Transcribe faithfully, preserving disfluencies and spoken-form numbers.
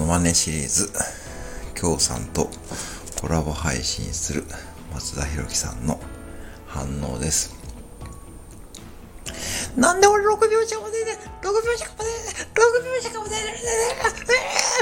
マネシリーズ、京さんとコラボ配信する松田博樹さんの反応です。なんで俺ろくびょうしかも出てろくびょうしかも出てろくびょうしかも出て